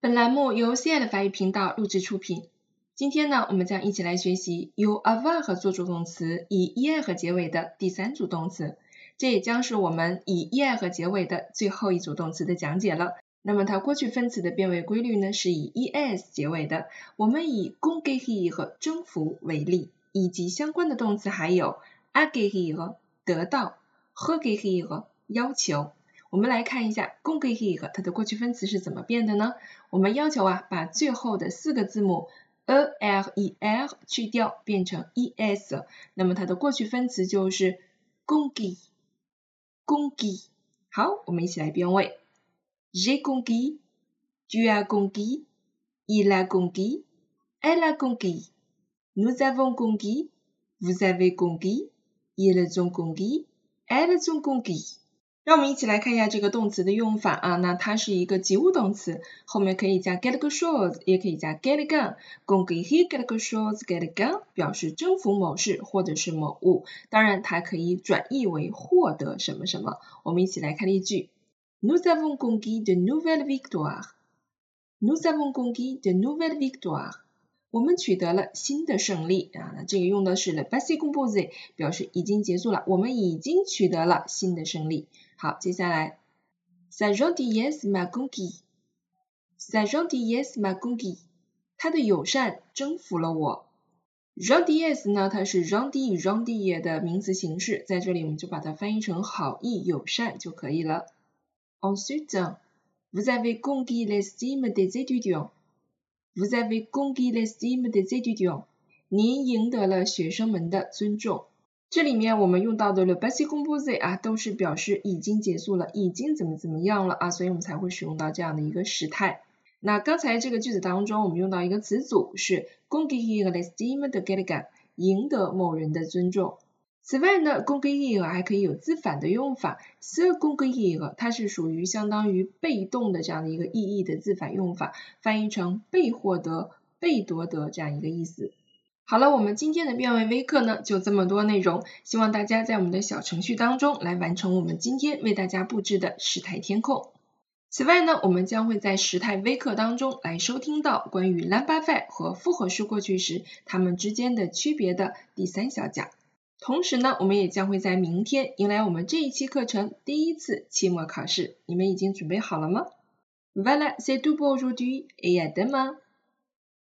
本栏目由 CI 法语频道录制出品。今天呢，我们将一起来学习由 avoir 做助动词以 er 结尾的第三组动词，这也将是我们以 er 结尾的最后一组动词的讲解了。那么它过去分词的变位规律呢，是以 es 结尾的。我们以 conquérir 征服为例，以及相关的动词还有 acquérir 得到 requérir 要求。我们来看一下 conquérir 它的过去分词是怎么变的呢？我们要求把最后的4个字母 er 去掉，变成 es， 那么它的过去分词就是 conquis。好，我们一起来变位。J'ai conquis, tu as conquis, il a conquis, elle a conquis, nous avons conquis, vous avez conquis, ils ont conquis, elles ont conquis。让我们一起来看一下这个动词的用法那它是一个及物动词，后面可以加 quelque chose， 也可以加 quelqu'un。conquérir quelque chose，quelqu'un 表示征服某事或者是某物，当然它可以转译为获得什么什么。我们一起来看例句。Nous avons conquis de nouvelles victoires. Nous avons conquis de nouvelles victoires. 我们取得了新的胜利那这个用的是 le passé composé， 表示已经结束了，我们已经取得了新的胜利。好，接下来 Sa gentillesse m'a conquis. Sa gentillesse m'a conquis. 他的友善征服了我。gentillesse 呢，它是 gentil 的名词形式，在这里我们就把它翻译成好意友善就可以了。Ensuite, vous avez conquis l'estime des étudiants. Vous avez conquis l'estime des étudiants. 您赢得了学生们的尊重。这里面我们用到的 le passé composé 都是表示已经结束了，已经怎么样了所以我们才会使用到这样的一个时态。那刚才这个句子当中，我们用到一个词组是 conquérir l'estime de quelqu'un， 赢得某人的尊重。此外呢 conquérir 还可以有自反的用法 se conquérir 它是属于相当于被动的这样的一个意义的自反用法，翻译成被获得、被夺得这样一个意思。好了，我们今天的变位微课呢就这么多内容，希望大家在我们的小程序当中来完成我们今天为大家布置的时态填空。此外呢，我们将会在时态微课当中来收听到关于 l'imparfait 和复合式过去时它们之间的区别的第3小讲。同时呢，我们也将会在明天迎来我们这一期课程第1次期末考试，你们已经准备好了吗？ Voilà, c'est tout pour aujourd'hui et à demain!